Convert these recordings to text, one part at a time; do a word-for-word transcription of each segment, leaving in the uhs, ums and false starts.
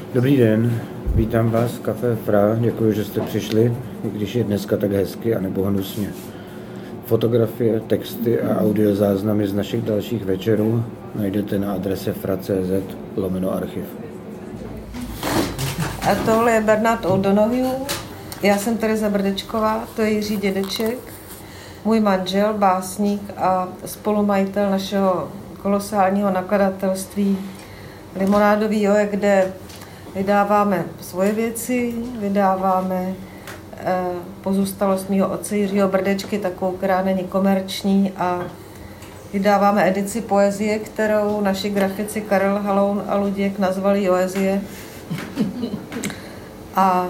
Dobrý den, vítám vás v Café Fra, děkuji, že jste přišli, i když je dneska tak hezky a nebo hnusně. Fotografie, texty a audiozáznamy z našich dalších večerů najdete na adrese fra tečka cé zet lomeno archiv. A tohle je Bernard O'Donoghue, já jsem Tereza Brdečková, to je Jiří Dědeček, můj manžel, básník a spolumajitel našeho kolosálního nakladatelství Limonádový joje, kde vydáváme svoje věci, vydáváme eh, pozůstalost mýho otce Jiřího Brdečky, takovou, která není komerční, a vydáváme edici poezie, kterou naši grafici Karel Haloun a Luděk nazvali Joezie. A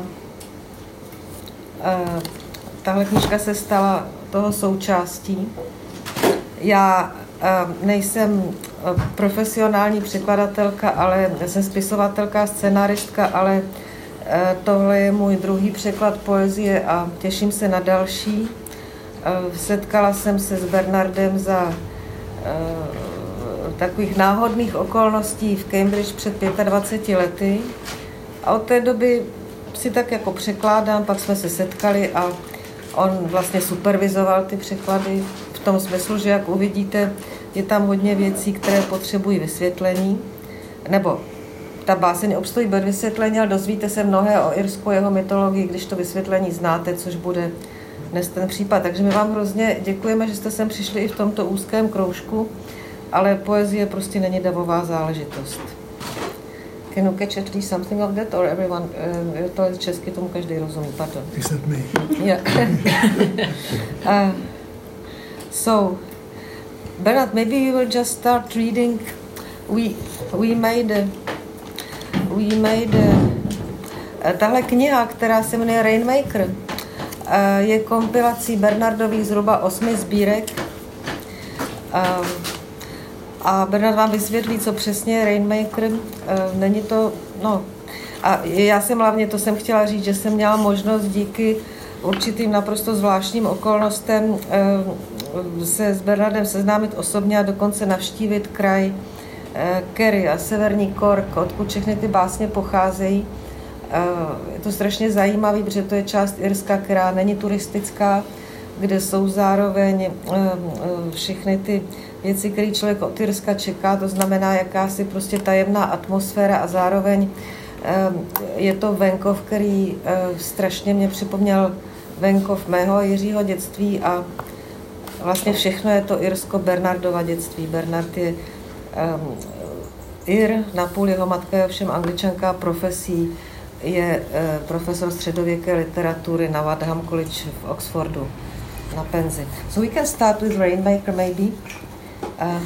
eh, tahle knížka se stala toho součástí. Já eh, nejsem profesionální překladatelka, ale jsem spisovatelka, scenáristka, ale tohle je můj druhý překlad poezie a těším se na další. Setkala jsem se s Bernardem za takových náhodných okolností v Cambridge před dvaceti pěti lety a od té doby si tak jako překládám, pak jsme se setkali a on vlastně supervizoval ty překlady v tom smyslu, že jak uvidíte, je tam hodně věcí, které potřebují vysvětlení, nebo ta báseň obstojí bez vysvětlení, ale dozvíte se mnohé o Irsku, jeho mytologii, když to vysvětlení znáte, což bude dnes ten případ. Takže my vám hrozně děkujeme, že jste sem přišli i v tomto úzkém kroužku, ale poezie prostě není davová záležitost. Can you catch at least something of that, or everyone, uh, to je česky, tomu každý rozumí, pardon. Except me. Yeah. uh, so, Bernard, maybe you will just start reading. We we made a, we made a, tahle kniha, která se jmenuje Rainmaker, je kompilací Bernardových zhruba osmi sbírek. A Bernard vám vysvětlí, co přesně je Rainmaker. Není to, no, a já jsem hlavně, to jsem chtěla říct, že jsem měla možnost díky určitým naprosto zvláštním okolnostem se s Bernardem seznámit osobně a dokonce navštívit kraj Kerry a severní Cork, odkud všechny ty básně pocházejí. Je to strašně zajímavé, protože to je část Irska, která není turistická, kde jsou zároveň všechny ty věci, které člověk od Irska čeká, to znamená jakási prostě tajemná atmosféra a zároveň je to venkov, který strašně mě připomněl venkov mého Jiřího dětství a vlastně všechno je to Irsko Bernardova dětství. Bernard je um, Ir, napůl jeho matka je ovšem Angličanka, profesí je uh, profesor středověké literatury na Wadham College v Oxfordu na penzi. So we can start with Rainmaker maybe. Uh,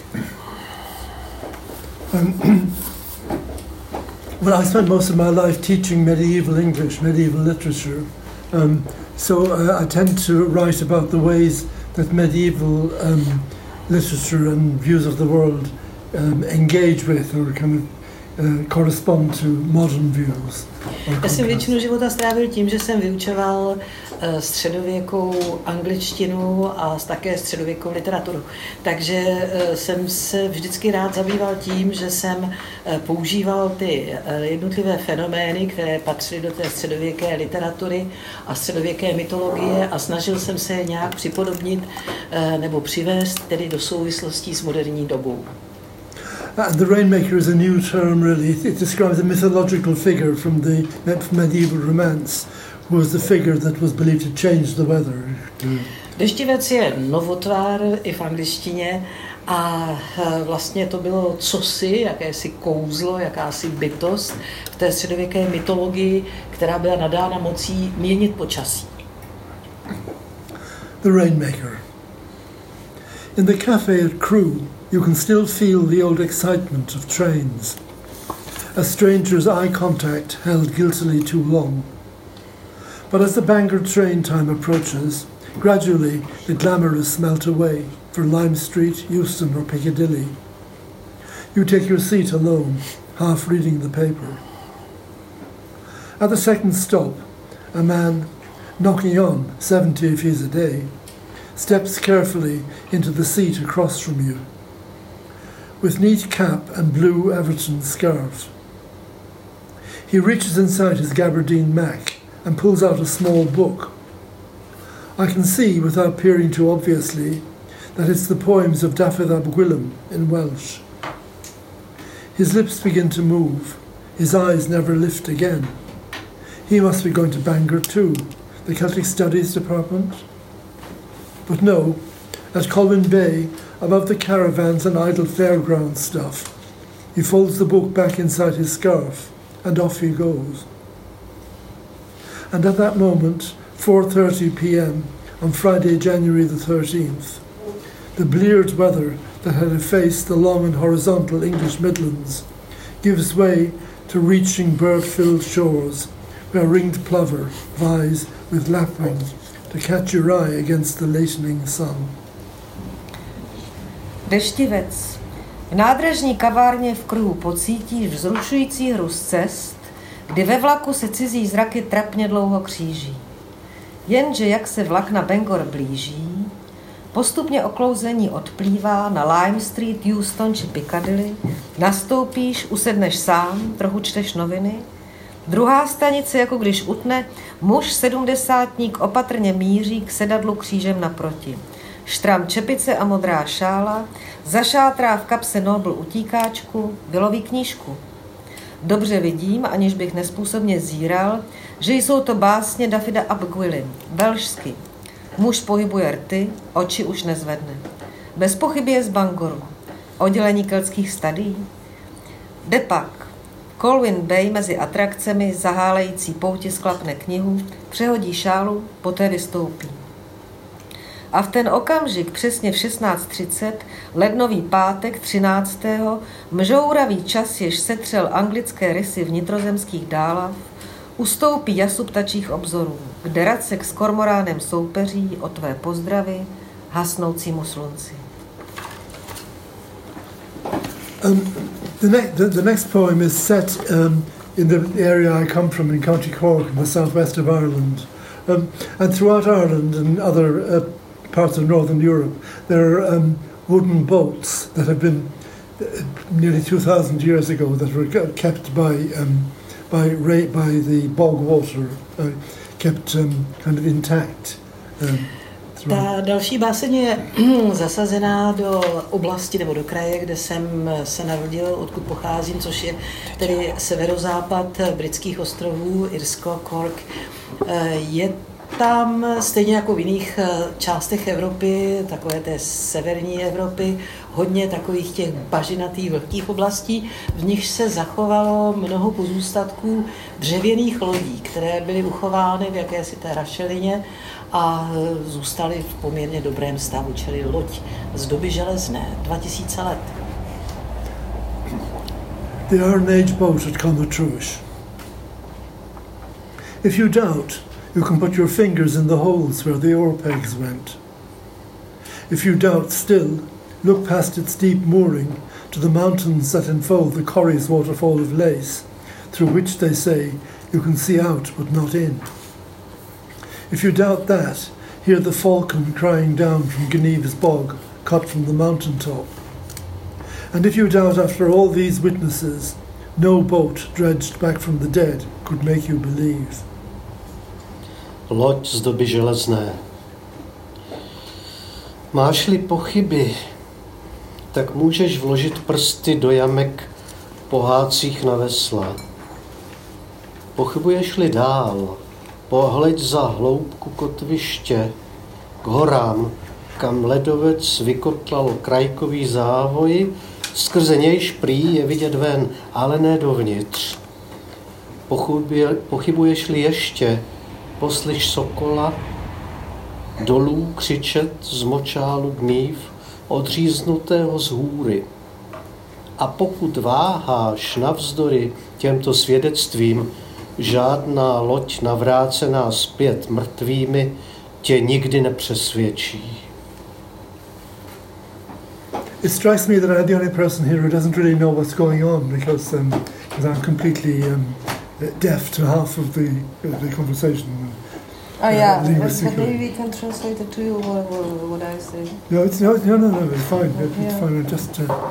um, well, I spent most of my life teaching medieval English, medieval literature. Um, so uh, I tend to write about the ways that medieval um, literature and views of the world um, engage with or kind of uh, correspond to modern views. Já jsem většinu života strávil tím, že jsem vyučoval uh, středověkou angličtinu a také středověkou literaturu. Takže uh, jsem se vždycky rád zabýval tím, že jsem uh, používal ty uh, jednotlivé fenomény, které patřily do té středověké literatury a středověké mytologie a snažil jsem se je nějak připodobnit uh, nebo přivést tedy do souvislostí s moderní dobou. And the Rainmaker is a new term, really. It describes a mythological figure from the medieval romance, who was the figure that was believed to change the weather. Deštivec je novotvár i v angličtině a vlastně to bylo cosi, jakési kouzlo, jakási bytost v té středověké mytologii, která byla nadána mocí měnit počasí. The Rainmaker. In the cafe at Crewe, you can still feel the old excitement of trains. A stranger's eye contact held guiltily too long. But as the Bangor train time approaches, gradually the glamorous melt away for Lime Street, Euston or Piccadilly. You take your seat alone, half reading the paper. At the second stop, a man, knocking on, seventy if he's a day, steps carefully into the seat across from you. With neat cap and blue Everton scarf. He reaches inside his gabardine Mac and pulls out a small book. I can see, without peering too obviously, that it's the poems of Dafydd ap Gwilym in Welsh. His lips begin to move. His eyes never lift again. He must be going to Bangor too, the Celtic Studies Department. But no, at Colwyn Bay, above the caravans and idle fairground stuff, he folds the book back inside his scarf, and off he goes. And at that moment, four thirty p.m. on Friday, January the thirteenth, the bleared weather that had effaced the long and horizontal English Midlands gives way to reaching bird-filled shores where ringed plover vies with lapwing to catch your eye against the lightening sun. Deštivec. V nádražní kavárně v kruhu pocítíš vzrušující hru z cest, kdy ve vlaku se cizí zraky trapně dlouho kříží. Jenže jak se vlak na Bangor blíží, postupně oklouzení odplývá na Lime Street, Euston či Piccadilly, nastoupíš, usedneš sám, trochu čteš noviny. Druhá stanice, jako když utne, muž sedmdesátník opatrně míří k sedadlu křížem naproti. Štram čepice a modrá šála, zašátrá v kapse Nobl utíkáčku, vyloví knížku. Dobře vidím, aniž bych nespůsobně zíral, že jsou to básně Dafyda ap Gwilym, velšsky. Muž pohybuje rty, oči už nezvedne. Bez pochyby je z Bangoru. Oddělení keltských studií. Jde pak. Colwyn Bay mezi atrakcemi zahálející pouti sklapne knihu, přehodí šálu, poté vystoupí. A v ten okamžik přesně v šestnáct třicet, lednový pátek třináctého mžouravý čas, jež setřel anglické rysy vnitrozemských dálav, ustoupí jasu ptačích obzorů, kde Racek s kormoránem soupeří o tvé pozdravy hasnoucímu slunci. Um, the, ne- the, the next poem is set um, in the area I come from in County Cork in the southwest of Ireland. Um, and throughout Ireland and other uh, parts of Northern Europe, there are um, wooden boats that have been uh, nearly two thousand years ago that were kept by um, by ra- by the bog water, uh, kept um, kind of intact. Um, Ta další báseň je zasazená do oblasti nebo do kraje, kde jsem se narodil, odkud pocházím, což je tedy severozápad britských ostrovů, Irsko, Cork. Je tam stejně jako v jiných částech Evropy, takové té severní Evropy, hodně takových těch bažinatých vlhkých oblastí, v nich se zachovalo mnoho pozůstatků dřevěných lodí, které byly uchovány v jakési té rašelině a zůstaly v poměrně dobrém stavu, čili loď z doby železné, dva tisíce let. The Iron Age boat at Clonmactruish. If you doubt, you can put your fingers in the holes where the oar pegs went. If you doubt still, look past its deep mooring to the mountains that enfold the Corrie's waterfall of lace, through which, they say, you can see out but not in. If you doubt that, hear the falcon crying down from Geneva's bog, cut from the mountain top. And if you doubt after all these witnesses, no boat dredged back from the dead could make you believe. Loď z doby železné. Máš-li pochyby, tak můžeš vložit prsty do jamek pohádcích na vesla. Pochybuješ-li dál, pohleď za hloubku kotviště, k horám, kam ledovec vykotlal krajkový závoj, skrze nějž prý je vidět ven, ale ne dovnitř. Pochybuješ-li ještě, poslyš sokola dolů křičet z močálu gnív odříznutého z hůry. A pokud váháš navzdory těmto svědectvím, žádná loď navrácená zpět mrtvými tě nikdy nepřesvědčí. It strikes me that I'm the only person here who doesn't really know what's going on because um, I'm completely um, deaf to half of the, uh, the conversation. Oh yeah, uh, but, but maybe we can translate it to you what, what, what I say. No, it's no, no, no, no, it's fine. It, it's Yeah. fine. I just, uh,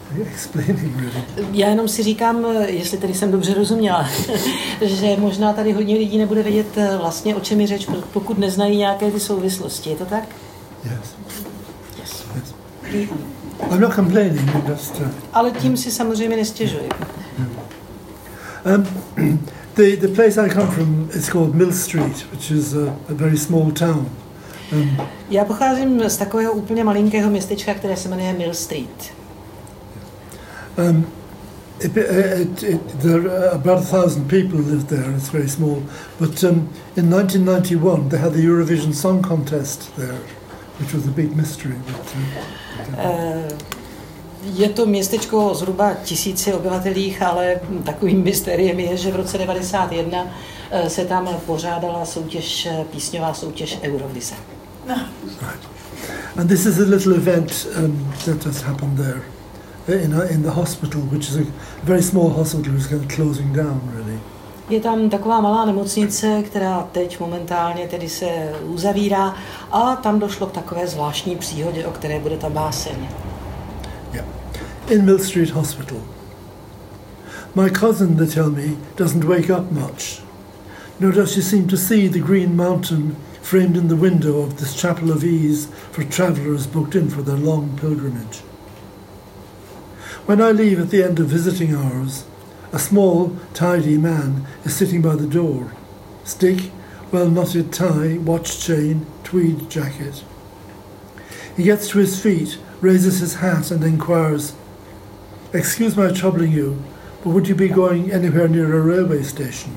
explaining really. Já jenom si říkám, jestli tedy jsem dobře rozuměla, že možná tady hodně lidí nebude vědět vlastně, o čem je řeč, pokud neznají nějaké ty souvislosti. Je to tak? Yes. Yes. Yes. I'm not complaining, just... Uh, Ale tím si samozřejmě nestěžuji. Um, the, the place I come from is called Mill Street, which is a, a very small town. Um, Já pocházím z takového úplně malinkého městečka, které se jmenuje Mill Street. Um, it, it, it, there are about a thousand people live there. It's very small. But um, in nineteen ninety-one, they had the Eurovision Song Contest there, which was a big mystery. But, uh, uh, je to městečko zhruba tisíci obyvatelích, ale takovým mystériem je, že v roce devadesát jedna uh, se tam pořádala soutěž, písňová soutěž Eurovize. No. Right. And this is a little event um, that just happened there. In, a, in the hospital, which is a very small hospital, which is kind of closing down, really. Je tam taková malá nemocnice, která teď momentálně tedy se uzavírá, a tam došlo k takové zvláštní příhodě, o které bude ta báseň. Yeah. In Mill Street Hospital. My cousin, they tell me, doesn't wake up much, nor does she seem to see the green mountain framed in the window of this chapel of ease for travellers booked in for their long pilgrimage. When I leave at the end of visiting hours, a small, tidy man is sitting by the door. Stick, well-knotted tie, watch chain, tweed jacket. He gets to his feet, raises his hat and inquires, "Excuse my troubling you, but would you be going anywhere near a railway station?"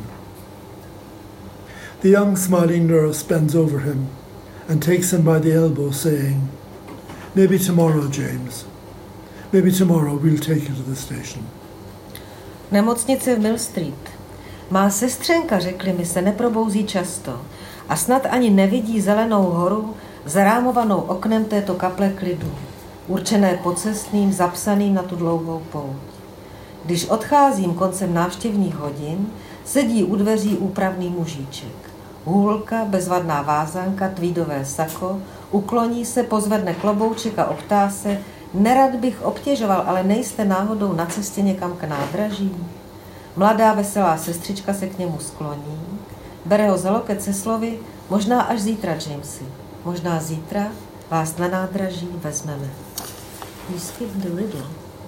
The young, smiling nurse bends over him and takes him by the elbow, saying, "Maybe tomorrow, James. Maybe tomorrow we'll take you to the station." Nemocnice v Mill Street. Má sestřenka, řekli mi, se neprobouzí často a snad ani nevidí zelenou horu zarámovanou oknem této kaple klidu, určené pocestným, zapsaným na tu dlouhou pouť. Když odcházím koncem návštěvních hodin, sedí u dveří úpravný mužíček. Hůlka, bezvadná vázanka, tweedové sako, ukloní se, pozvedne klobouček a optá se: "Nerad bych obtěžoval, ale nejste náhodou na cestě někam k nádraží?" Mladá veselá sestřička se k němu skloní, bere ho za loket se slovy: "Možná až zítra, Jamesy. Možná zítra vás na nádraží vezmeme." You skip the riddle.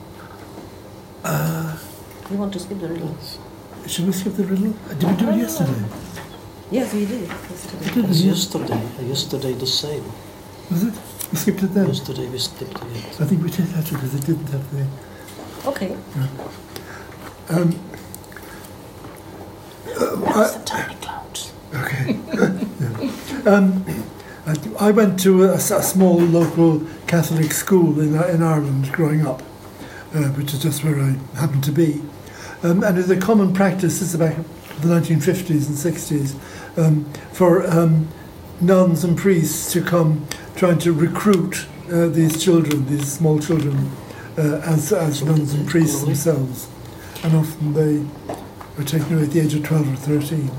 Uh, You want to skip the riddle? should we skip the riddle? Did we do it yesterday? Yes, we did. Yesterday. We did It's it yesterday, yesterday the same. Was it? We skipped it then? Yesterday we skipped it. I think we did that because it didn't have the... Okay. Um, uh, That's I, the tiny clouds. Okay. Yeah. Um, I, I went to a, a small local Catholic school in, in Ireland growing up, uh, which is just where I happened to be. Um, and it's a common practice since about the nineteen fifties and sixties um, for um, nuns and priests to come trying to recruit uh, these children, these small children, uh, as, as nuns and priests themselves. And often they are taken away at the age of twelve or thirteen.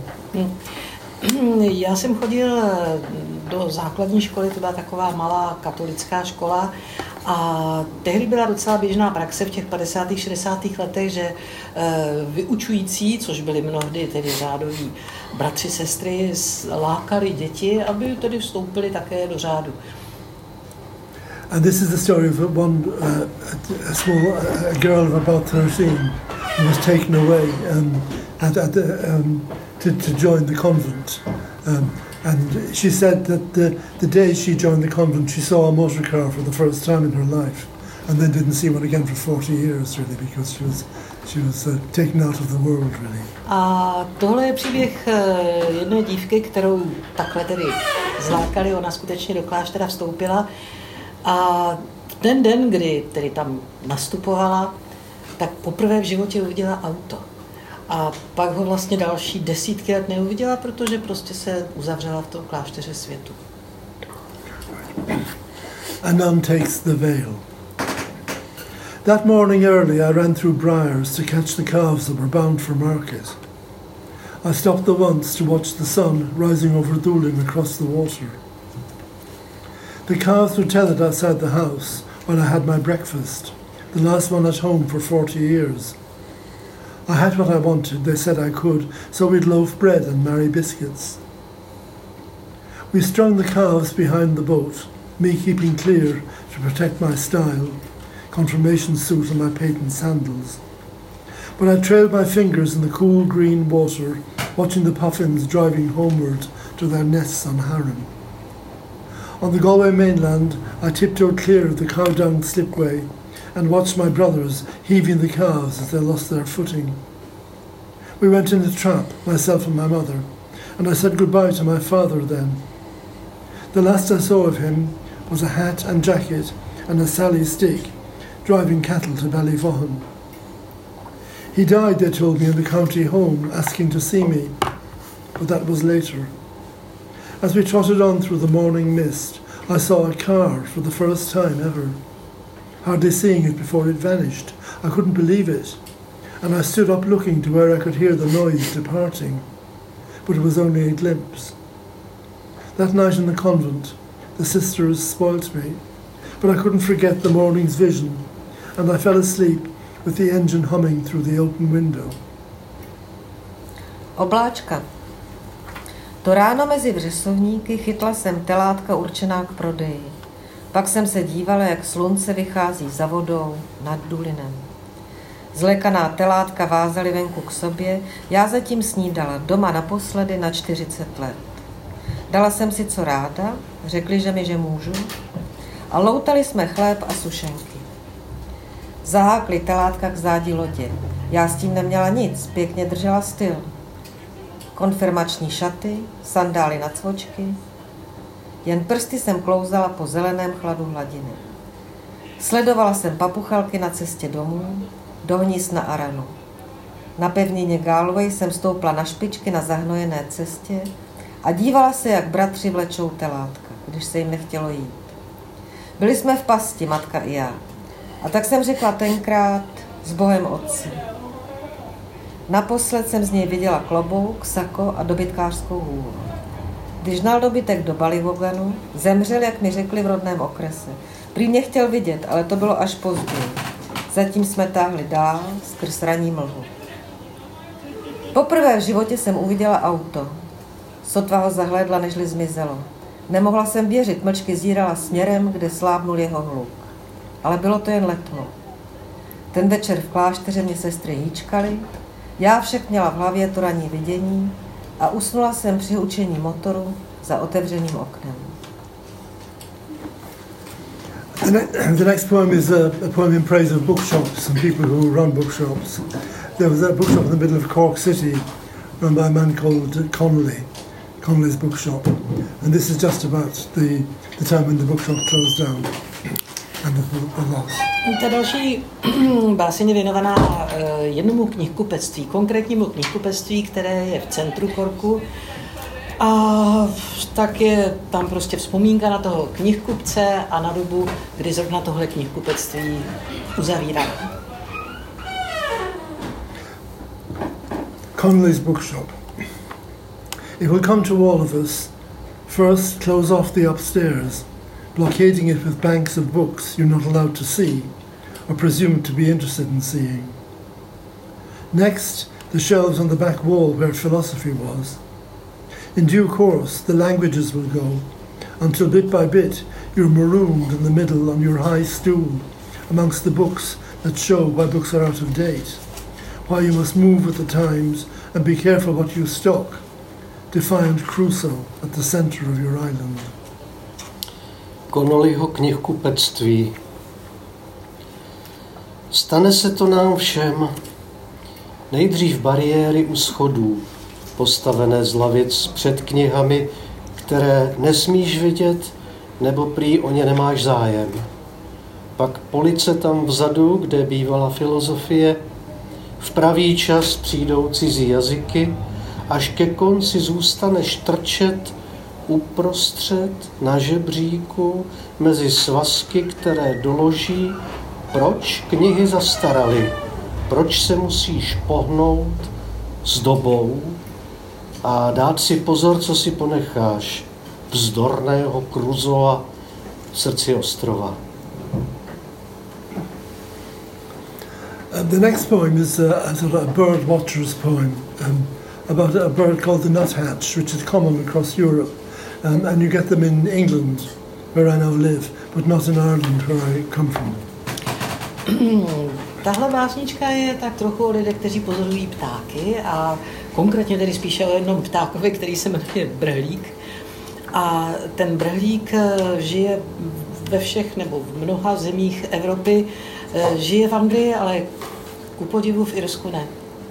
Já jsem chodil do základní školy, to byla taková malá katolická škola, a tehdy byla docela běžná praxe v těch padesátých šedesátých letech, že vyučující, což byli mnohdy tedy řádoví bratři, sestry, lákali děti, aby tedy vstoupili také do řádu. And this is the story of one uh, a small a girl of about thirteen who was taken away um, at, at the, um, to, to join the convent. Um, and she said that the, the day she joined the convent, she saw a motor car for the first time in her life, and then didn't see one again for forty years, really, because she was she was uh, taken out of the world, really. A tohle je příběh jedné dívky, kterou takhle tedy zlákali, ona skutečně do kláštera vstoupila. A ten den, kdy tedy tam nastupovala, tak poprvé v životě uviděla auto. A pak ho vlastně další desítky let neuviděla, protože prostě se uzavřela v tom klášteře světu. A nun takes the veil. That morning early I ran through briars to catch the calves that were bound for market. I stopped the once to watch the sun rising over Dooling across the water. The calves were tethered outside the house while I had my breakfast, the last one at home for forty years. I had what I wanted, they said I could, so we'd loaf bread and marry biscuits. We strung the calves behind the boat, me keeping clear to protect my style, confirmation suit and my patent sandals. But I trailed my fingers in the cool green water, watching the puffins driving homeward to their nests on Harran. On the Galway mainland, I tiptoed clear of the cow-dung slipway and watched my brothers heaving the calves as they lost their footing. We went in a trap, myself and my mother, and I said goodbye to my father then. The last I saw of him was a hat and jacket and a Sally stick, driving cattle to Ballyvohan. He died, they told me, in the county home, asking to see me, but that was later. As we trotted on through the morning mist, I saw a car for the first time ever. Hardly seeing it before it vanished. I couldn't believe it, and I stood up looking to where I could hear the noise departing, but it was only a glimpse. That night in the convent, the sisters spoilt me, but I couldn't forget the morning's vision, and I fell asleep with the engine humming through the open window. Obláčka. To ráno mezi vřesovníky chytla jsem telátka určená k prodeji. Pak jsem se dívala, jak slunce vychází za vodou nad Dulinem. Zlekaná telátka vázali venku k sobě, já zatím snídala doma naposledy na čtyřicet let. Dala jsem si co ráda, řekli, že mi, že můžu, a loutali jsme chléb a sušenky. Zahákli telátka k zádi lodě. Já s tím neměla nic, pěkně držela styl. Konfirmační šaty, sandály na cvočky. Jen prsty jsem klouzala po zeleném chladu hladiny. Sledovala jsem papuchalky na cestě domů, do hnízd na Aranu. Na pevnině Galway jsem stoupla na špičky na zahnojené cestě a dívala se, jak bratři vlečou telátka, když se jim nechtělo jít. Byli jsme v pasti, matka i já. A tak jsem řekla tenkrát s Bohem otci. Naposled jsem z něj viděla klobouk, sako a dobytkářskou hůl. Když hnal dobytek do Ballywoganu, zemřel, jak mi řekli v rodném okrese. Prý mě chtěl vidět, ale to bylo až později. Zatím jsme táhli dál skrz ranní mlhu. Poprvé v životě jsem uviděla auto. Sotva ho zahlédla, nežli zmizelo. Nemohla jsem věřit, mlčky zírala směrem, kde slábnul jeho hluk. Ale bylo to jen letmo. Ten večer v klášteře mě sestry hýčkaly, já však měla v hlavě to ranní vidění a usnula jsem při hučení motoru za otevřeným oknem. The, ne- the next poem is a, a poem in praise of bookshops and people who run bookshops. There was a bookshop in the middle of Cork City run by a man called Connolly, Connolly's Bookshop. And this is just about the, the time when the bookshop closed down and the, the loss. Ta další báseň je věnovaná uh, jednomu knihkupectví, konkrétnímu knihkupectví, které je v centru Corku. A tak je tam prostě vzpomínka na toho knihkupce a na dobu, kdy zrovna tohle knihkupectví uzavírá. Connolly's Bookshop. It will come to all of us. First, close off the upstairs, blockading it with banks of books you're not allowed to see or presumed to be interested in seeing. Next, the shelves on the back wall where philosophy was. In due course, the languages will go, until bit by bit you're marooned in the middle on your high stool amongst the books that show why books are out of date, why you must move with the times and be careful what you stock, defiant Crusoe at the centre of your island. Connollyho knihkupectví. Stane se to nám všem. Nejdřív bariéry u schodů, postavené z lavic před knihami, které nesmíš vidět, nebo prý o ně nemáš zájem. Pak police tam vzadu, kde bývala filozofie, v pravý čas přijdou cizí jazyky, až ke konci zůstaneš trčet uprostřed na žebříku mezi svazky, které doloží, proč knihy zastaraly, proč se musíš pohnout s dobou a dát si pozor, co si ponecháš, vzdorného Crusoa v srdci ostrova. Uh, the next poem is uh, a sort of a bird watcher's poem um, about a bird called the nuthatch, which is common across Europe, um, and you get them in England, where I now live, but not in Ireland, where I come from. Tahle básnička je tak trochu o lidech, kteří pozorují ptáky a konkrétně tedy spíše o jednom ptákovi, který se jmenuje brhlík. A ten brhlík žije ve všech nebo v mnoha zemích Evropy, žije v Anglii, ale ku podivu v Irsku ne.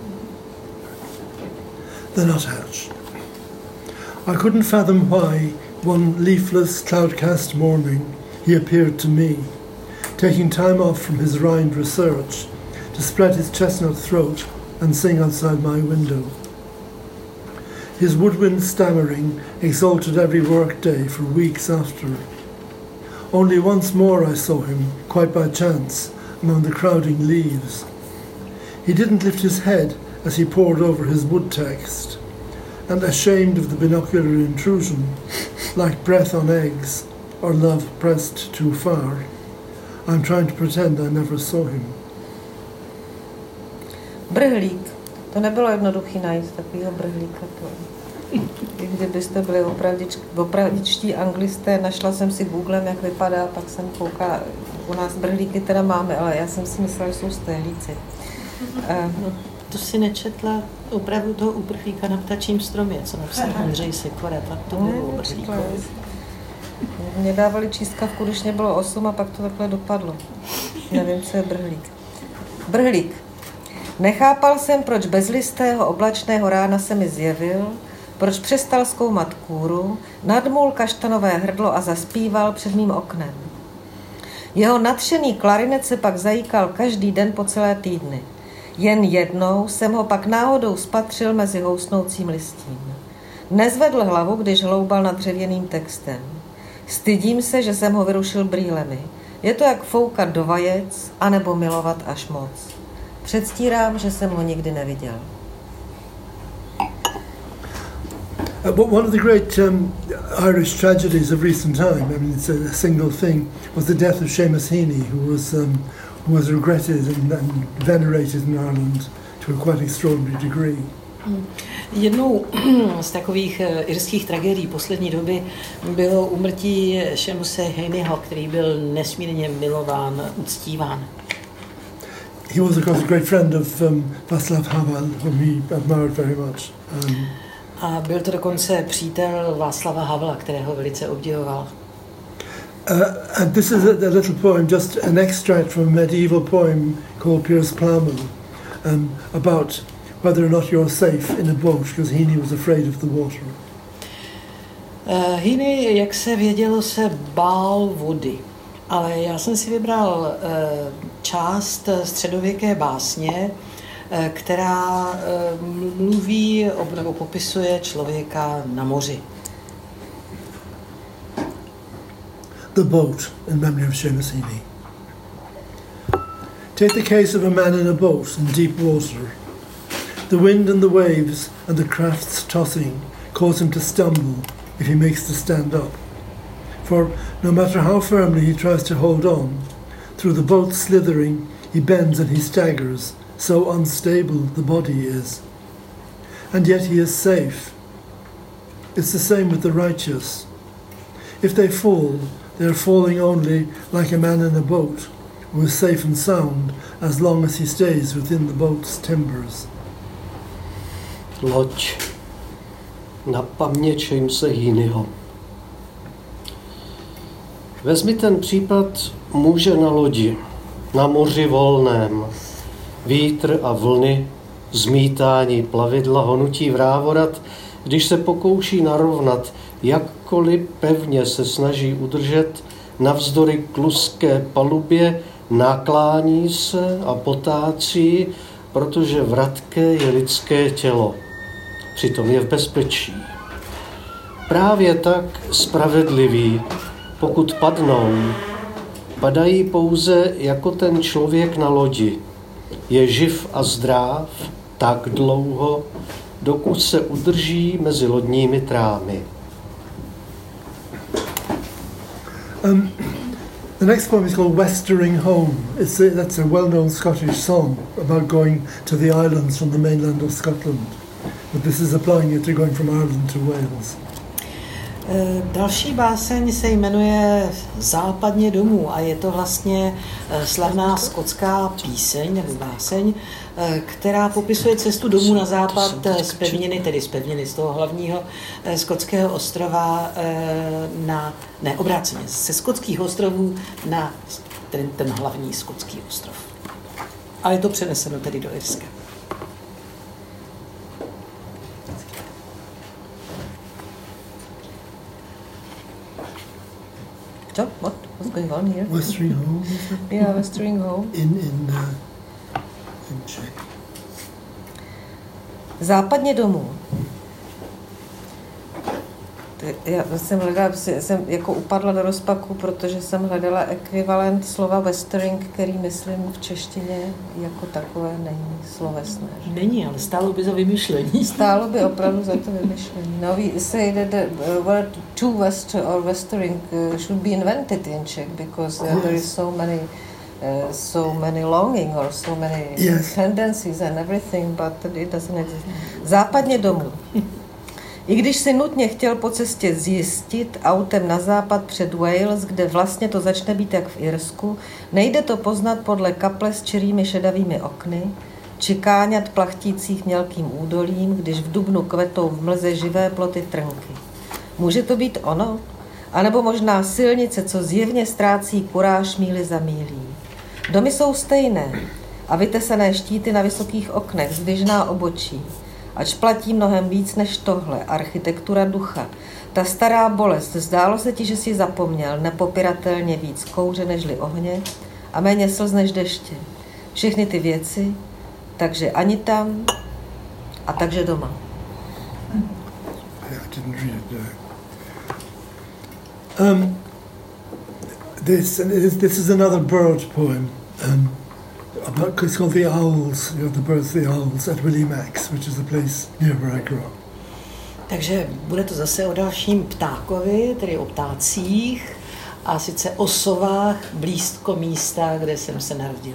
The nuthatch. I couldn't fathom why one leafless, cloud-cast morning he appeared to me, taking time off from his rind research to spread his chestnut throat and sing outside my window. His woodwind stammering exalted every work-day for weeks after. Only once more I saw him, quite by chance, among the crowding leaves. He didn't lift his head as he pored over his wood text, and ashamed of the binocular intrusion, like breath on eggs or love pressed too far, I'm trying to pretend I never saw him. Brhlík. To nebylo jednoduchý najít takovýho brhlíka. To. Kdybyste byli opravdič, opravdičtí anglisté, našla jsem si Googlem, jak vypadá, pak jsem koukala, u nás brhlíky teda máme, ale já jsem si myslela, že jsou stehlíci. Uh, no, to si nečetla opravdu toho uprchlíka na ptačím stromě, co napsal Ondřej Sikora, tak to bylo o brhlíkovi. Mě dávali čískavku, když mě bylo osm a pak to takhle dopadlo. Nevím, co je brhlík. Brhlík. Nechápal jsem, proč bezlistého oblačného rána se mi zjevil, proč přestal zkoumat kůru, nadmul kaštanové hrdlo a zaspíval před mým oknem. Jeho nadšený klarinet se pak zajíkal každý den po celé týdny. Jen jednou jsem ho pak náhodou spatřil mezi housnoucím listím. Nezvedl hlavu, když hloubal nad dřevěným textem. Stydím se, že jsem ho vyrušil brýlemi. Je to jak foukat do vajec, anebo milovat až moc. Předstírám, že jsem ho nikdy neviděl. Uh, but one of the great um, Irish tragedies of recent time, I mean, it's a, a single thing, was the death of Seamus Heaney, who was um, who was regretted and, and venerated in Ireland to a quite extraordinary degree. Jednou z takových irských tragédií poslední doby bylo úmrtí Seamuse Heaneyho, který byl nesmírně milován, uctíván. He was, of course, a great friend of um, Václav Havel, whom he admired very much. Um, A byl to dokonce přítel Václava Havla, kterého velice obdivoval. Uh, and this is a, a little poem, just an extract from a medieval poem called Piers Plowman, um, about whether or not you're safe in a boat, because Heaney was afraid of the water. Uh, Heaney, jak se vědělo, se bál vody. Ale já jsem si vybral uh, část středověké básně, uh, která uh, mluví nebo popisuje člověka na moři. The Boat, in memory of Seamus Heaney. Take the case of a man in a boat in deep water. The wind and the waves and the craft's tossing cause him to stumble if he makes to stand up. For no matter how firmly he tries to hold on, through the boat's slithering he bends and he staggers, so unstable the body is. And yet he is safe. It's the same with the righteous. If they fall, they are falling only like a man in a boat, who is safe and sound as long as he stays within the boat's timbers. Loď na paměť Seamuse Heaneyho. Vezmi ten případ muže na lodi, na moři volném. Vítr a vlny, zmítání plavidla, honutí vrávorat, když se pokouší narovnat, jakkoliv pevně se snaží udržet, navzdory kluské palubě, naklání se a potácí, protože vratké je lidské tělo. Přitom je v bezpečí. Právě tak spravedliví, pokud padnou, padají pouze jako ten člověk na lodi. Je živ a zdráv tak dlouho, dokud se udrží mezi lodními trámy. Um, The next poem is called Westering Home. It's a, that's a well-known Scottish song about going to the islands from the mainland of Scotland. But this is applying it to going from Ireland to Wales. Další báseň se jmenuje Západně domů a je to vlastně slavná skotská píseň nebo báseň, která popisuje cestu domů na západ z pevniny, tedy z pevniny z toho hlavního skotského ostrova na, ne obráceně, ze skotských ostrovů na ten, ten hlavní skotský ostrov. A je to přeneseno tedy do Irska. So, what? What's going on here? Westering Home? Yeah, Westering Home. In, in, uh, in Czech. Západně domů. Já jsem hledala, jsem jako upadla do rozpaku, protože jsem hledala ekvivalent slova westering, který myslím v češtině jako takové není slovesné. Není, ale stálo by za vymyšlení. Stálo by opravdu za to vymyšlení. Now we say that the word to west or westering should be invented in Czech because uh, there is so many uh, so many longing or so many yes. tendencies and everything, but it doesn't exist. Západně domů. I když si nutně chtěl po cestě zjistit autem na západ před Wales, kde vlastně to začne být jak v Irsku, nejde to poznat podle kaple s čirými šedavými okny, či káňat plachtících mělkým údolím, když v dubnu kvetou v mlze živé ploty trnky. Může to být ono? A nebo možná silnice, co zjevně ztrácí kuráž míli za mílí. Domy jsou stejné a vytesané štíty na vysokých oknech, zdvižná obočí. Ač platí mnohem víc než tohle, architektura ducha. Ta stará bolest, zdálo se ti, že jsi zapomněl, nepopiratelně víc kouře nežli ohně a méně slz než deště. Všechny ty věci, takže ani tam a takže doma. I didn't read it, no. Um, this, this is another bird poem. Um, About, it's called The Owls, you know, the birds, the owls at Willie Max, which is a place near where I grew up. Takže bude to zase o dalším ptákovi, tedy o ptácích, a sice o sovách blízko místa, kde jsem se narodil.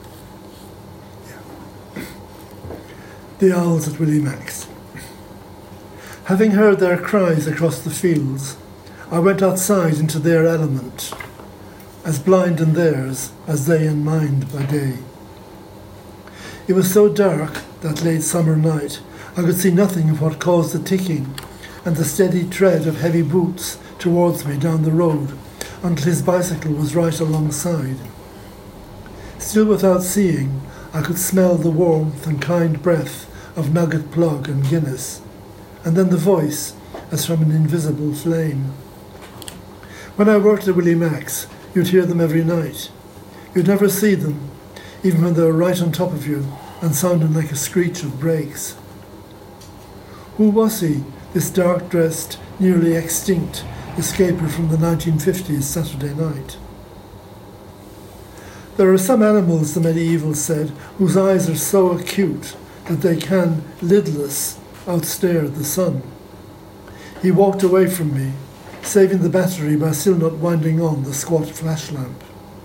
Yeah. The owls at Willie Max. Having heard their cries across the fields, I went outside into their element, as blind in theirs as they in mine by day. It was so dark that late summer night I could see nothing of what caused the ticking and the steady tread of heavy boots towards me down the road until his bicycle was right alongside. Still without seeing, I could smell the warmth and kind breath of Nugget Plug and Guinness, and then the voice as from an invisible flame. When I worked at Willie Max, you'd hear them every night. You'd never see them, even when they were right on top of you and sounding like a screech of brakes. Who was he, this dark-dressed, nearly extinct escaper from the nineteen fifties Saturday night? There are some animals, the medievals said, whose eyes are so acute that they can, lidless, outstare the sun. He walked away from me, saving the battery by still not winding on the squat flash lamp.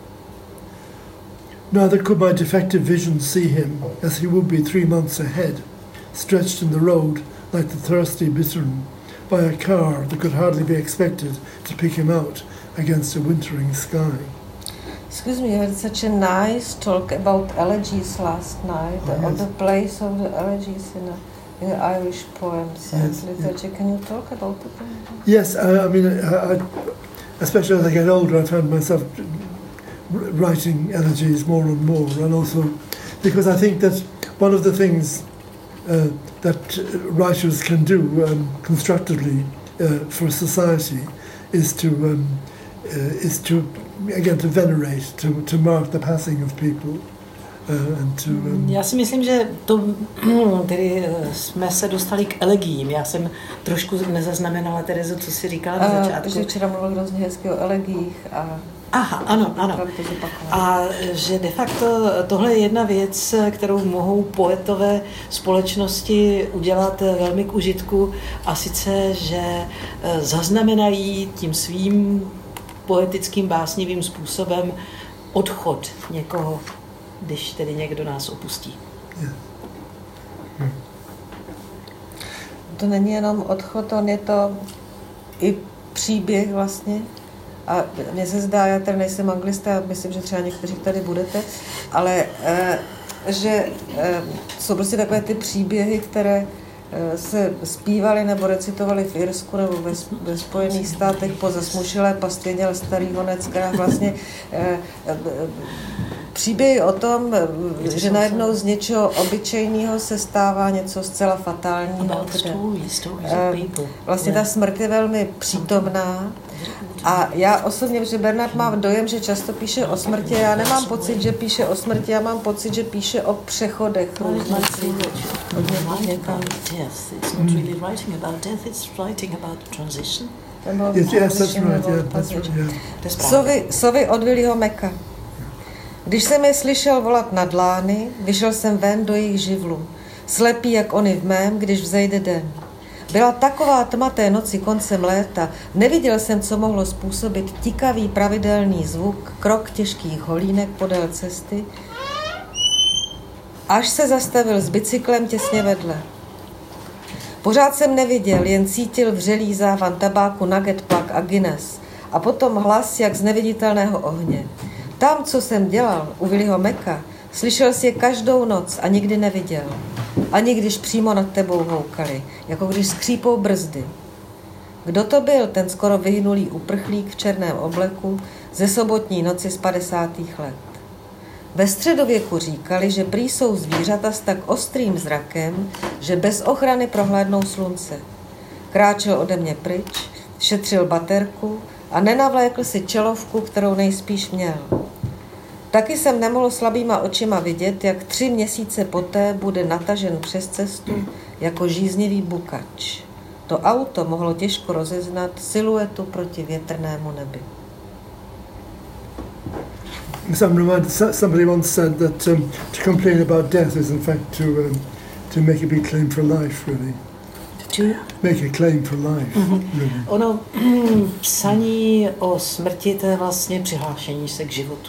Neither could my defective vision see him, as he would be three months ahead, stretched in the road like the thirsty bittern, by a car that could hardly be expected to pick him out against a wintering sky. Excuse me, you had such a nice talk about elegies last night, Oh, on yes. the place of the elegies in, a, in the Irish poems and Yes, literature. Can you talk about it? Yes, I, I mean, I, I, especially as I get older, I found myself writing elegies more and more, and also because I think that one of the things uh, that writers can do um, constructively uh, for society is to um, uh, is to again to venerate, to to mark the passing of people. Uh, and to, um, Já si myslím, že to, tedy jsme se dostali k elegím. Já jsem trošku nezaznamenala, Terezo, co jsi říkala na začátku. Že včera mluvil hrozně hezky o elegích a... Aha, ano, ano. A že de facto tohle je jedna věc, kterou mohou poetové společnosti udělat velmi k užitku, a sice, že zaznamenají tím svým poetickým, básnivým způsobem odchod někoho, když tedy někdo nás opustí. Yeah. To není jenom odchod, on je to i příběh vlastně. A mně se zdá, já tady nejsem anglista, myslím, že třeba někteří tady budete, ale e, že e, jsou prostě takové ty příběhy, které e, se zpívaly nebo recitovaly v Irsku nebo ve, ve Spojených státech po zasmušilé pastvěně, ale starý honec, která vlastně e, e, příběhy o tom, že najednou z něčeho obyčejného se stává něco zcela fatálního. Vlastně ta smrt je velmi přítomná. A já osobně, že Bernard má dojem, že často píše o smrti, já nemám pocit, že píše o smrti, já mám pocit, že píše o přechodech. Sovy od Willyho Macka. Když jsem je slyšel volat nad lány, vyšel jsem ven do jejich živlu, slepý jak oni v mém, když vzejde den. Byla taková tma té noci koncem léta, neviděl jsem, co mohlo způsobit tikavý pravidelný zvuk, krok těžkých holínek podél cesty, až se zastavil s bicyklem těsně vedle. Pořád jsem neviděl, jen cítil vřelý závan tabáku Nugget Plug a Guinness a potom hlas jak z neviditelného ohně. Tam, co jsem dělal u Willyho Macka, slyšel jsi je každou noc a nikdy neviděl. Ani když přímo nad tebou houkali, jako když skřípou brzdy. Kdo to byl, ten skoro vyhynulý uprchlík v černém obleku ze sobotní noci z padesátých let? Ve středověku říkali, že prý jsou zvířata s tak ostrým zrakem, že bez ochrany prohlédnou slunce. Kráčel ode mě pryč, šetřil baterku a nenavlékl si čelovku, kterou nejspíš měl. Taky jsem nemohl slabýma očima vidět, jak tři měsíce poté bude natažen přes cestu jako žíznivý bukač. To auto mohlo těžko rozeznat siluetu proti větrnému nebi. Somebody once said that um, to complain about death is in fact to um, to make a big claim for life, really. To make a claim for life. Mm-hmm. Really. Ono psaní o smrti, to je vlastně přihlášení se k životu.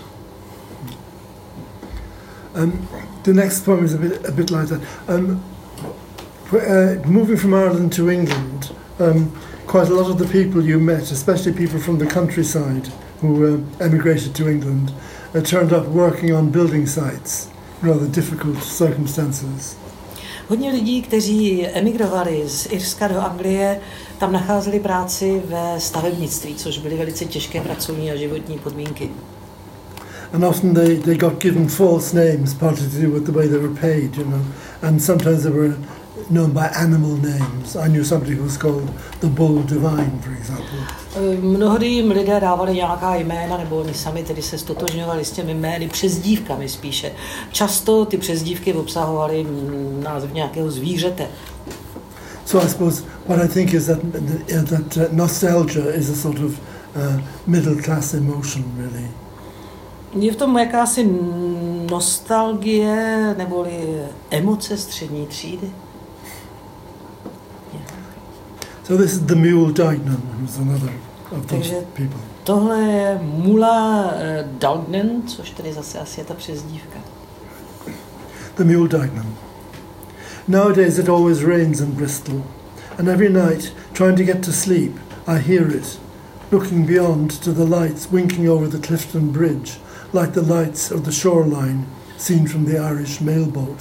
Um, the next poem is a bit, a bit like that. Um, uh, moving from Ireland to England, um, quite a lot of the people you met, especially people from the countryside who uh, emigrated to England, uh, turned up working on building sites, rather difficult circumstances. Hodně lidí, kteří emigrovali z Irska do Anglie, tam nacházeli práci ve stavebnictví, což byly velice těžké pracovní a životní podmínky. And often they, they got given false names, partly to do with the way they were paid, you know. And sometimes they were known by animal names. I knew somebody who was called the Bull Divine, for example. Mnohdy jim lidé dávali nějaká jména, nebo oni sami tedy se stotožňovali s těmi jmény, přezdívkami spíše. Často ty přezdívky obsahovaly název nějakého zvířete. So I suppose what I think is that, that nostalgia is a sort of uh, middle class emotion, really. Je v tom jakási nostalgie neboli emoce střední třídy. Yeah. So this is the Mule Dignan, who's another of those people. Tohle je Mula Dignan, což tedy zase asi je ta přezdívka. The Mule Dignan. Nowadays it always rains in Bristol, and every night, trying to get to sleep, I hear it, looking beyond to the lights winking over the Clifton Bridge, like the lights of the shoreline seen from the Irish mailboat.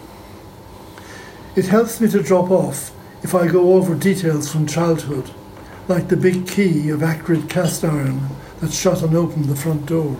It helps me to drop off if I go over details from childhood, like the big key of acrid cast iron that shut and opened the front door.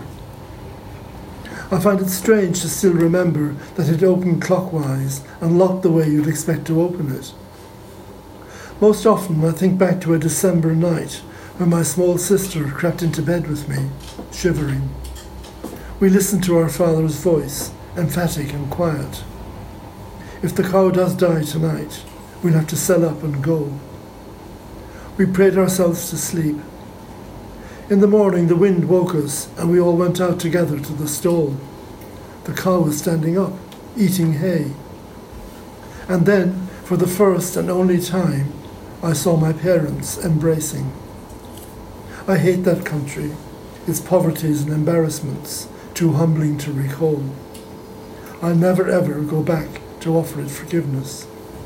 I find it strange to still remember that it opened clockwise and locked the way you'd expect to open it. Most often I think back to a December night when my small sister crept into bed with me, shivering. We listened to our father's voice, emphatic and quiet. If the cow does die tonight, we'll have to sell up and go. We prayed ourselves to sleep. In the morning the wind woke us and we all went out together to the stall. The cow was standing up, eating hay. And then, for the first and only time, I saw my parents embracing. I hate that country, its poverties and embarrassments, too humbling to recall. I'll never ever go back to offer it forgiveness.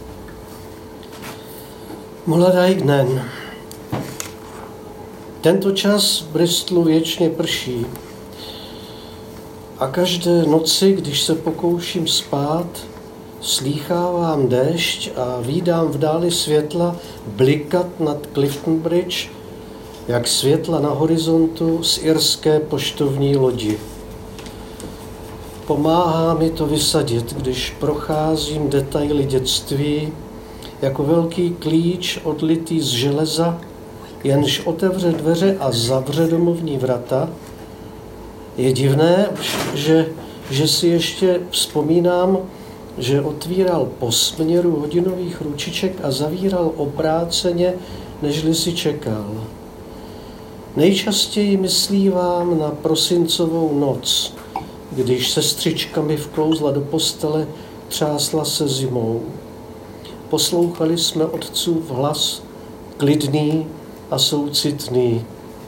Muladajgnen. Tento čas v Bristolu věčně prší. A každé noci, když se pokouším spát, slýchávám déšť a vídám v dáli světla blikat nad Clifton Bridge, jak světla na horizontu z irské poštovní lodi. Pomáhá mi to vysadit, když procházím detaily dětství, jako velký klíč odlitý z železa, jenž otevře dveře a zavře domovní vrata. Je divné, že, že si ještě vzpomínám, že otvíral po směru hodinových ručiček a zavíral obráceně, nežli si čekal. Nejčastěji myslívám na prosincovou noc, když sestřička mi vklouzla do postele, třásla se zimou. Poslouchali jsme otcův hlas, klidný a soucitný.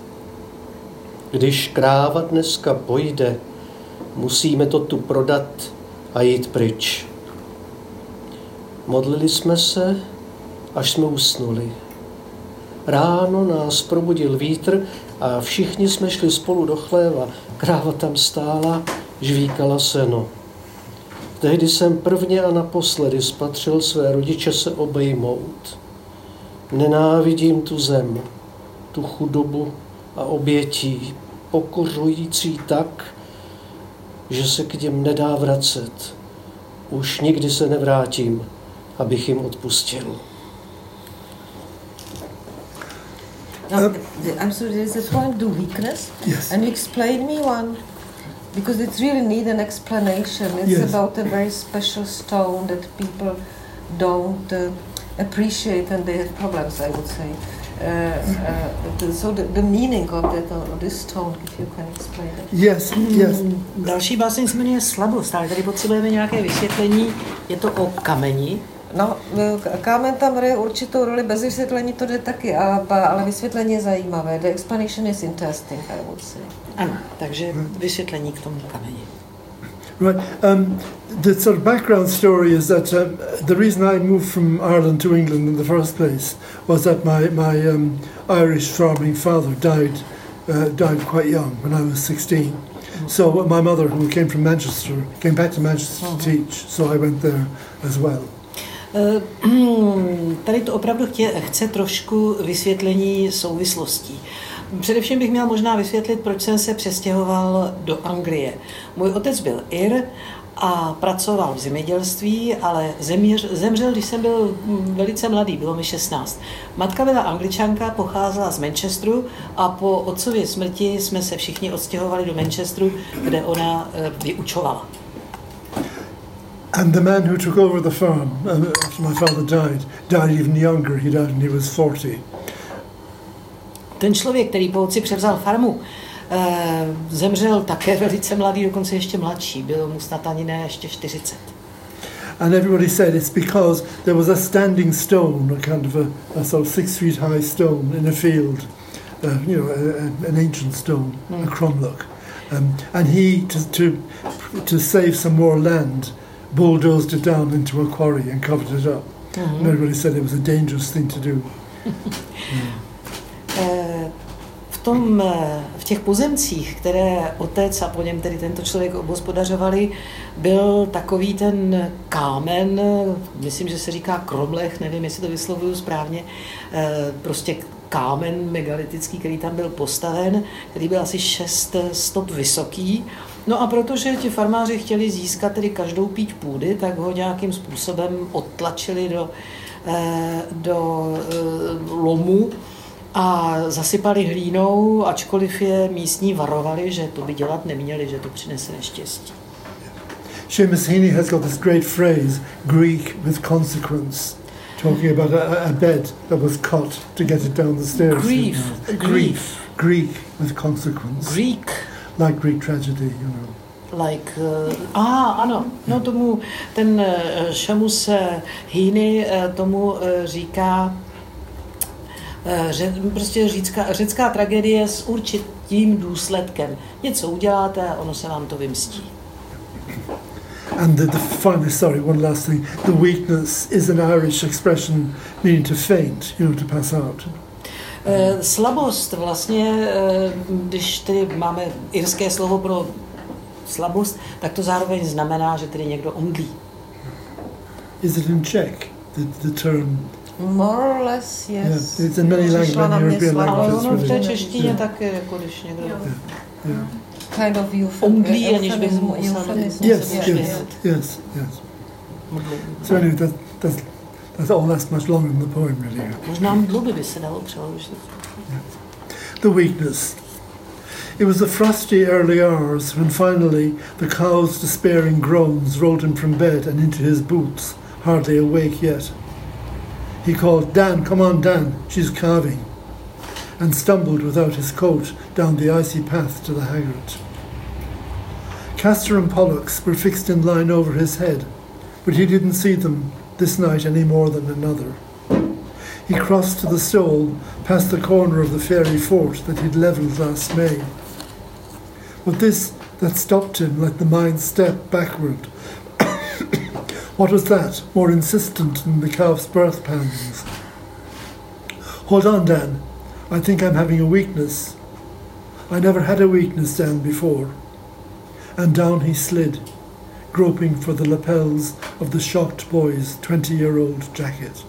Když kráva dneska pojde, musíme to tu prodat a jít pryč. Modlili jsme se, až jsme usnuli. Ráno nás probudil vítr a všichni jsme šli spolu do chléva. Kráva tam stála, žvíkala seno. Tehdy jsem prvně a naposledy spatřil své rodiče se obejmout. Nenávidím tu zem, tu chudobu a obětí, pokořující tak, že se k něm nedá vracet. Už nikdy se nevrátím, abych jim odpustil. No, I'm sorry, there's a point to weakness. Yes. And you explain me one, because it really need an explanation. It's Yes. about a very special stone that people don't uh, appreciate and they have problems, I would say. Uh, uh, the, so the, the meaning of that, of this stone, if you can explain it. Yes, yes. Další báseň se jmenuje Slabost, ale tady potřebujeme nějaké vysvětlení. Je to o kameni. No, kámen tam hraje určitou roli, bez vysvětlení to jde taky, ale, ale vysvětlení je zajímavé. The explanation is interesting, I would say. Ano, takže vysvětlení k tomu kameni. Right. Um, the sort of background story is that uh, the reason I moved from Ireland to England in the first place was that my my um, Irish farming father died uh, died quite young when I was sixteen. Mm-hmm. So my mother, who came from Manchester, came back to Manchester mm-hmm. to teach. So I went there as well. Tady to opravdu chtě, chce trošku vysvětlení souvislostí. Především bych měl možná vysvětlit, proč jsem se přestěhoval do Anglie. Můj otec byl Ir a pracoval v zemědělství, ale zeměř, zemřel, když jsem byl velice mladý, bylo mi šestnáct. Matka byla Angličanka, pocházela z Manchesteru a po otcově smrti jsme se všichni odstěhovali do Manchesteru, kde ona vyučovala. And the man who took over the farm after my father died, died even younger. He died when he was forty. Ten člověk, který po otci převzal farmu, zemřel také velice mladý, dokonce ještě mladší. Bylo mu snad ani ne ještě čtyřicet. And everybody said it's because there was a standing stone, a kind of a, a sort of six feet high stone in a field, uh, you know, a, a, an ancient stone, mm. a cromlech. Um, and he, to, to, to save some more land, bulldozed it down into a quarry and covered it up. Mm-hmm. And everybody said it was a dangerous thing to do. mm. V, tom, v těch pozemcích, které otec a po něm tedy tento člověk obhospodařovali, byl takový ten kámen, myslím, že se říká kromlech, nevím, jestli to vyslovuju správně, prostě kámen megalitický, který tam byl postaven, který byl asi šest stop vysoký. No a protože ti farmáři chtěli získat tedy každou píď půdy, tak ho nějakým způsobem odtlačili do, do lomu a zasypali hlínou, ačkoliv je místní varovali, že to by dělat neměli, že to přinese neštěstí. Seamus Heaney has got this great phrase, Greek with consequence, talking about a, a bed that was cut to get it down the stairs. Grief. Grief. Greek with consequence. Greek. Like Greek tragedy, you know. Like, uh, aha, ano, no tomu, ten uh, Seamus Heaney uh, tomu uh, říká Ře, prostě řecká, řecká tragédie s určitým důsledkem. Něco uděláte a ono se vám to vymstí. And the, the finally, sorry, one last thing. The weakness is an Irish expression meaning to faint, you know, to pass out. Uh, slabost vlastně, uh, když tedy máme irské slovo pro slabost, tak to zároveň znamená, že tedy někdo omdlí. Is it in Czech, the, the term? More or less, yes. Yeah, it's in many languages, European Ale languages. ono v té really. češtině Yeah. taky, jako když někdo Yeah. Yeah. Kind of euph- omdlí, aniž by mu euphemism. Yes, Yeah. yes, yes, yes. So anyway, that, that's, that's all. That's much longer than the poem, really. Možná mdluby by se dalo přeložit. The weakness. It was the frosty early hours when finally the cow's despairing groans rolled him from bed and into his boots, hardly awake yet. He called, "Dan, come on, Dan, she's calving," and stumbled without his coat down the icy path to the haggard. Castor and Pollux were fixed in line over his head, but he didn't see them this night any more than another. He crossed to the stole, past the corner of the fairy fort that he'd levelled last May. But this that stopped him like the mind's step backward. What was that, more insistent than the calf's birth pangs? Hold on, Dan. I think I'm having a weakness. I never had a weakness, Dan, before. And down he slid, groping for the lapels of the shocked boy's twenty-year-old jacket.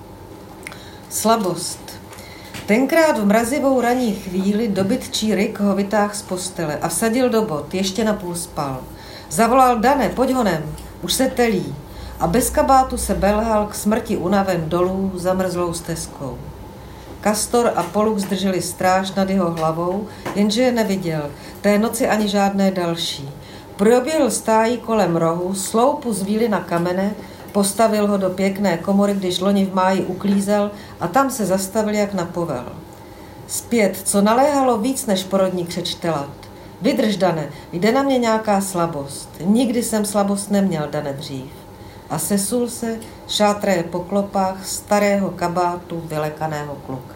Slabost. Tenkrát v mrazivou ranní chvíli dobytčí Rick ho vytáhl z postele a vsadil do bot, ještě napůl spal. Zavolal: Dane, pojď honem, už se telí. A bez kabátu se belhal k smrti unaven dolů zamrzlou stezkou. Castor a Pollux drželi stráž nad jeho hlavou, jenže je neviděl, té noci ani žádné další. Proběhl stájí kolem rohu, sloupu zvíli na kamene, postavil ho do pěkné komory, když loni v máji uklízel, a tam se zastavil jak na povel. Zpět, co naléhalo víc než porodní křečtelat. Vydrž, Dane, jde na mě nějaká slabost. Nikdy jsem slabost neměl, Dane, dřív. A sesul se, šátraje po klopách starého kabátu vylekaného kluka.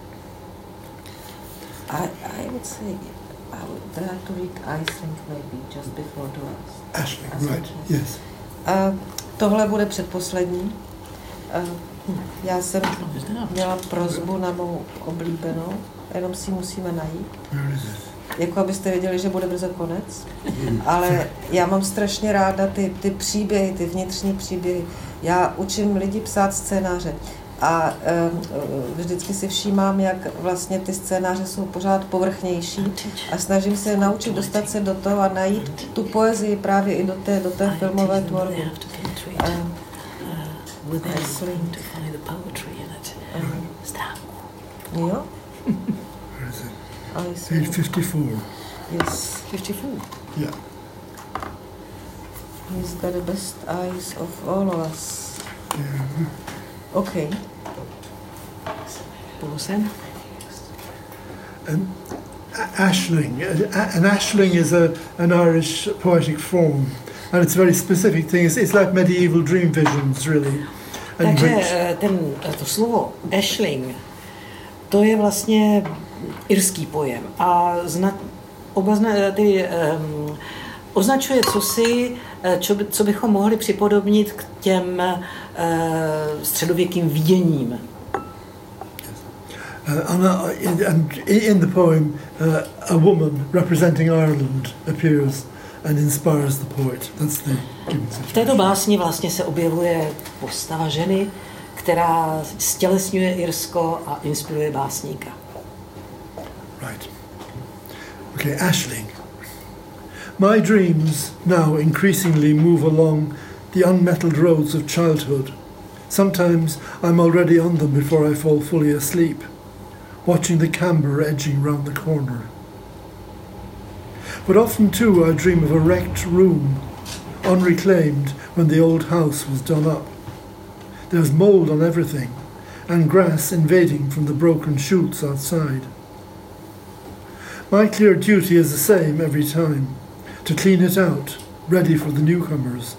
I, I would say, I would try to read Aisling maybe just before the last. Aisling, right, yes. A tohle bude předposlední. A já jsem měla prosbu na mou oblíbenou, jenom si musíme najít. Where is it? Jako abyste věděli, že bude brzo konec. Ale já mám strašně ráda ty, ty příběhy, ty vnitřní příběhy. Já učím lidi psát scénáře a um, vždycky si všímám, jak vlastně ty scénáře jsou pořád povrchnější a snažím se naučit dostat se do toho a najít tu poezii právě i do té, do té filmové tvorby. Um, jo? Where is it? Aisling. Page fifty-four. Yes. fifty-four. Yeah. He's got the best eyes of all of us. Yeah. Okay. Pulsem. And a- Aisling, a- an Aisling is a, an Irish poetic form, and it's a very specific thing. It's, it's like medieval dream visions, really. And Takže which- eh, ten, to slovo Aisling, to je vlastně irský pojem a zna, obazna, ty, um, označuje cosi, čo, by, co bychom mohli připodobnit k těm uh, středověkým viděním. Uh, and, uh, in, and in the poem, uh, a woman representing Ireland appears and inspires the poet. That's the given V situation. této básni vlastně se objevuje postava ženy, která stělesňuje Irsko a inspiruje básníka. Right. Okay, Aisling. My dreams now increasingly move along the unmetalled roads of childhood. Sometimes I'm already on them before I fall fully asleep, watching the camber edging round the corner. But often too I dream of a wrecked room, unreclaimed when the old house was done up. There's mould on everything, and grass invading from the broken shoots outside. My clear duty is the same every time, to clean it out, ready for the newcomers.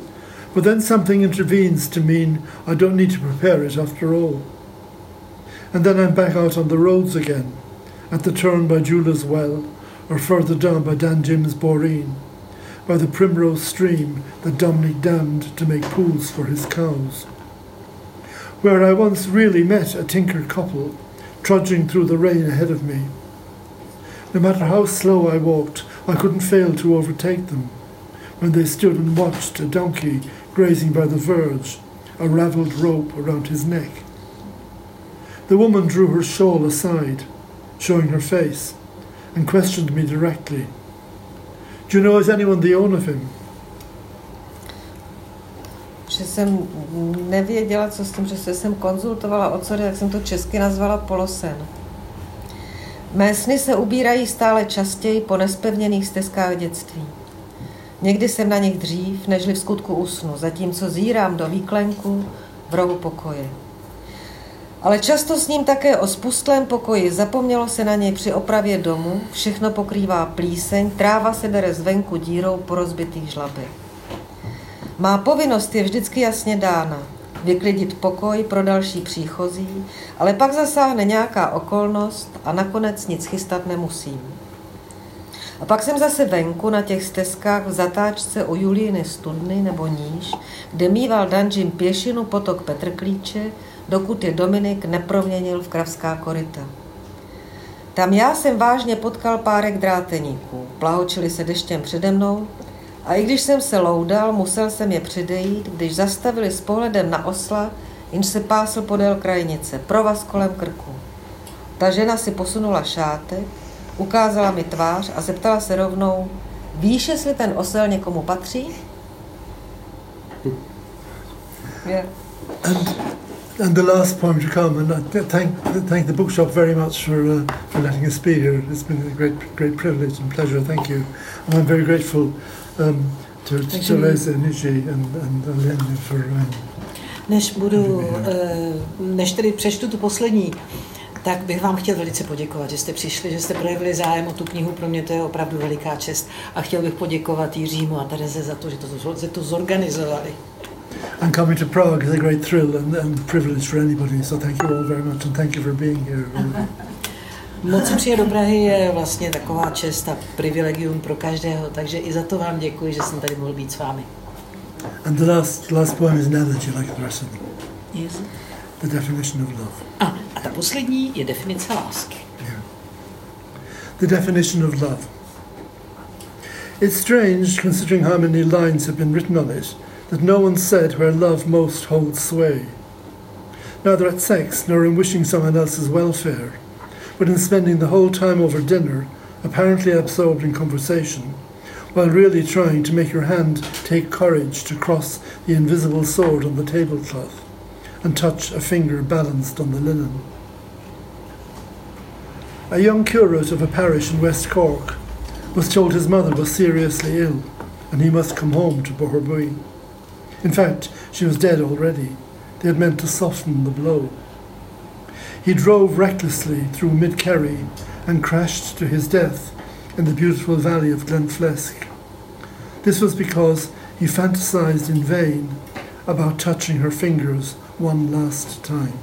But then something intervenes to mean I don't need to prepare it after all. And then I'm back out on the roads again, at the turn by Jula's Well, or further down by Dan Jim's Boreen, by the Primrose Stream that Dominic dammed to make pools for his cows, where I once really met a tinker couple trudging through the rain ahead of me. No matter how slow I walked, I couldn't fail to overtake them when they stood and watched a donkey grazing by the verge, a ravelled rope around his neck. The woman drew her shawl aside, showing her face, and questioned me directly. Do you know, is anyone the owner of him? Že jsem nevěděla, co s tím, že jsem konzultovala o co jde, tak jsem to česky nazvala polosen. Mé sny se ubírají stále častěji po nespevněných stezkách dětství. Někdy jsem na nich dřív, nežli v skutku usnu, zatímco zírám do výklenku v rohu pokoje. Ale často s ním také o spustlém pokoji, zapomnělo se na něj při opravě domu, všechno pokrývá plíseň, tráva se bere zvenku dírou po rozbitých žlabech. Má povinnost je vždycky jasně dána, vyklidit pokoj pro další příchozí, ale pak zasáhne nějaká okolnost a nakonec nic chystat nemusím. A pak jsem zase venku na těch stezkách v zatáčce u Julíny studny nebo níž, kde mýval Dan Jim pěšinu potok Petrklíče, dokud je Dominik neproměnil v kravská koryta. Tam já jsem vážně potkal párek dráteníků, plahočili se deštěm přede mnou a i když jsem se loudal, musel jsem je předejít, když zastavili s pohledem na osla, jenž se pásl podél krajnice, provaz kolem krku. Ta žena si posunula šátek, ukázala mi tvář a zeptala se rovnou, víš, jestli ten osel někomu patří? Yeah. And, and the last poem to come, and I thank, thank the bookshop very much for, uh, for letting us be here. It's been a great, great privilege and pleasure, thank you. And I'm very grateful um, to, to Teresa, Nishi and, and Linda for... Um, než budu, než tedy přečtu tu poslední, tak bych vám chtěl velice poděkovat, že jste přišli, že jste projevili zájem o tu knihu, pro mě to je opravdu veliká čest. A chtěl bych poděkovat Jiřímu a Tereze za to, že to, že to zorganizovali. And coming to Prague is a great thrill and, and privilege for anybody, so thank you all very much and thank you for being here. Moc přijet do Prahy je vlastně taková čest a privilegium pro každého, takže i za to vám děkuji, že jsem tady mohl být s vámi. And the last, last poem is an elegy like the rest of them. Yes. The definition of love. A, a ta poslední je definice lásky. Yeah. The definition of love. It's strange, considering how many lines have been written on it, that no one said where love most holds sway. Neither at sex nor in wishing someone else's welfare, but in spending the whole time over dinner, apparently absorbed in conversation, while really trying to make your hand take courage to cross the invisible sword on the tablecloth and touch a finger balanced on the linen. A young curate of a parish in West Cork was told his mother was seriously ill and he must come home to Boherbue. In fact, she was dead already. They had meant to soften the blow. He drove recklessly through Mid-Kerry and crashed to his death in the beautiful valley of Glenflesk. This was because he fantasized in vain about touching her fingers one last time.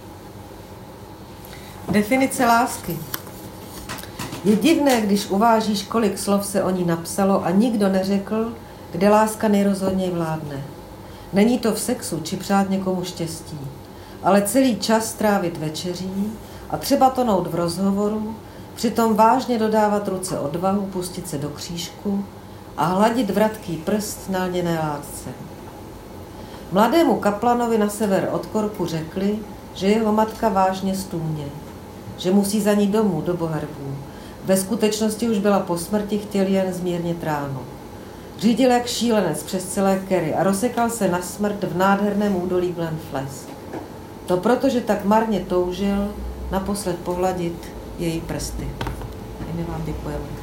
Definice lásky. Je divné, když uvážíš, kolik slov se o ní napsalo a nikdo neřekl, kde láska nejrozhodněji vládne. Není to v sexu či přát někomu štěstí, ale celý čas strávit večeří a třeba tonout v rozhovoru, přitom vážně dodávat ruce odvahu, pustit se do křížku a hladit vratký prst na lněné lásce. Mladému kaplanovi na sever od Korku řekli, že jeho matka vážně stůně, že musí za ní domů do Boherbů. Ve skutečnosti už byla po smrti, chtěl jen zmírnit ránu. Řídil jak šílenec přes celé Kerry a rozsekal se na smrt v nádherném údolí Glenflesk. To proto, že tak marně toužil naposled pohladit její prsty. A my vám děkujeme.